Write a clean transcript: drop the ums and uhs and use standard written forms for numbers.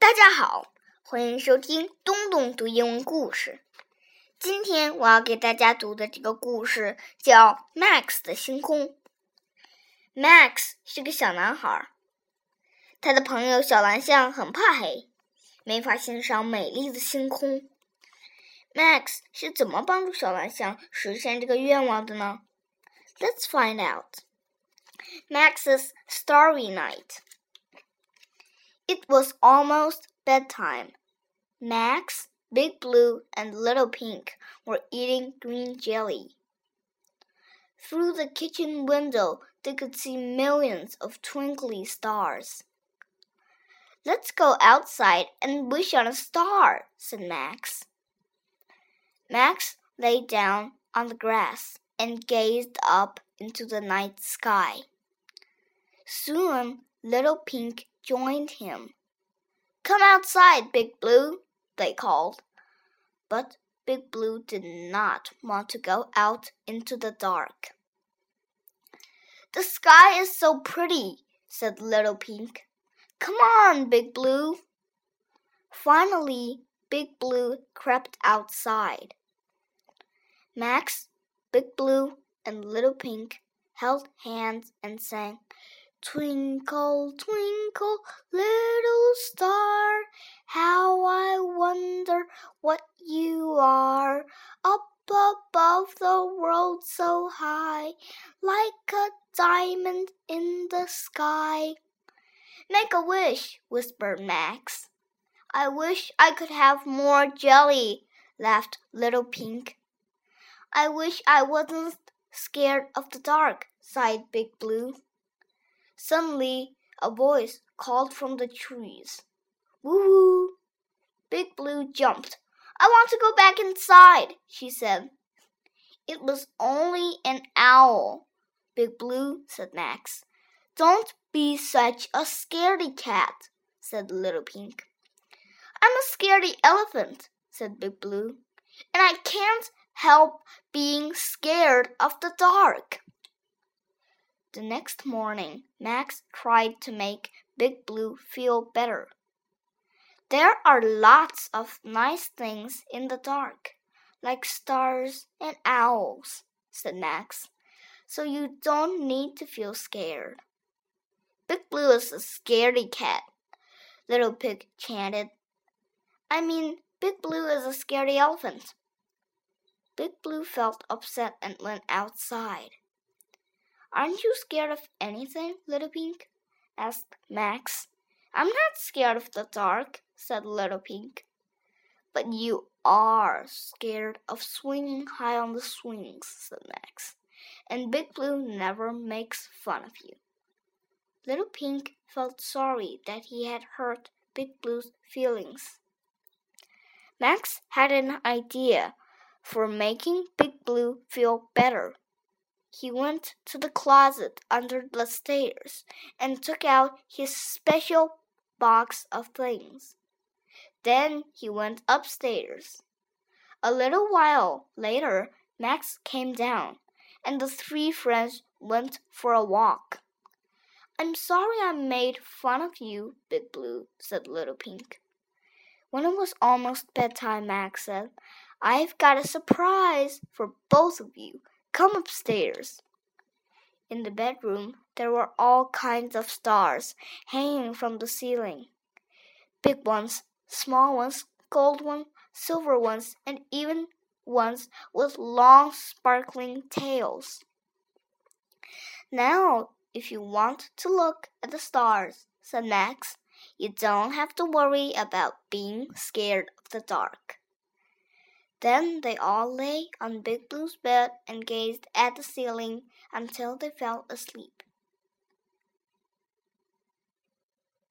大家好，欢迎收听东东读英文故事。今天我要给大家读的这个故事叫 Max 的星空。Max 是个小男孩，他的朋友小蓝象很怕黑，没法欣赏美丽的星空。Max 是怎么帮助小蓝象实现这个愿望的呢？ Let's find out. Max's Starry Night.It was almost bedtime. Max, Big Blue, and Little Pink were eating green jelly. Through the kitchen window, they could see millions of twinkly stars. "Let's go outside and wish on a star," said Max. Max lay down on the grass and gazed up into the night sky. Soon, Little Pink joined him. "Come outside, Big Blue," they called. But Big Blue did not want to go out into the dark. "The sky is so pretty," said Little Pink. "Come on, Big Blue." Finally, Big Blue crept outside. Max, Big Blue, and Little Pink held hands and sang,"Twinkle, twinkle, little star, how I wonder what you are, up above the world so high, like a diamond in the sky." "Make a wish," whispered Max. "I wish I could have more jelly," laughed Little Pink. "I wish I wasn't scared of the dark," sighed Big Blue. Suddenly, a voice called from the trees. "Woo-woo!" Big Blue jumped. "I want to go back inside," she said. "It was only an owl." "Big Blue," said Max. "Don't be such a scaredy cat," said Little Pink. "I'm a scaredy elephant," said Big Blue, "and I can't help being scared of the dark." The next morning, Max tried to make Big Blue feel better. "There are lots of nice things in the dark, like stars and owls," said Max, "so you don't need to feel scared." "Big Blue is a scaredy cat," Little Pig chanted. "I mean, Big Blue is a scaredy elephant." Big Blue felt upset and went outside. "Aren't you scared of anything, Little Pink?" asked Max. "I'm not scared of the dark," said Little Pink. "But you are scared of swinging high on the swings," said Max. "And Big Blue never makes fun of you." Little Pink felt sorry that he had hurt Big Blue's feelings. Max had an idea for making Big Blue feel better. He went to the closet under the stairs and took out his special box of things. Then he went upstairs. A little while later, Max came down, and the three friends went for a walk. "I'm sorry I made fun of you, Big Blue," said Little Pink. When it was almost bedtime, Max said, "I've got a surprise for both of you. Come upstairs." In the bedroom, there were all kinds of stars hanging from the ceiling. Big ones, small ones, gold ones, silver ones, and even ones with long sparkling tails. "Now, if you want to look at the stars," said Max, "you don't have to worry about being scared of the dark." Then they all lay on Big Blue's bed and gazed at the ceiling until they fell asleep.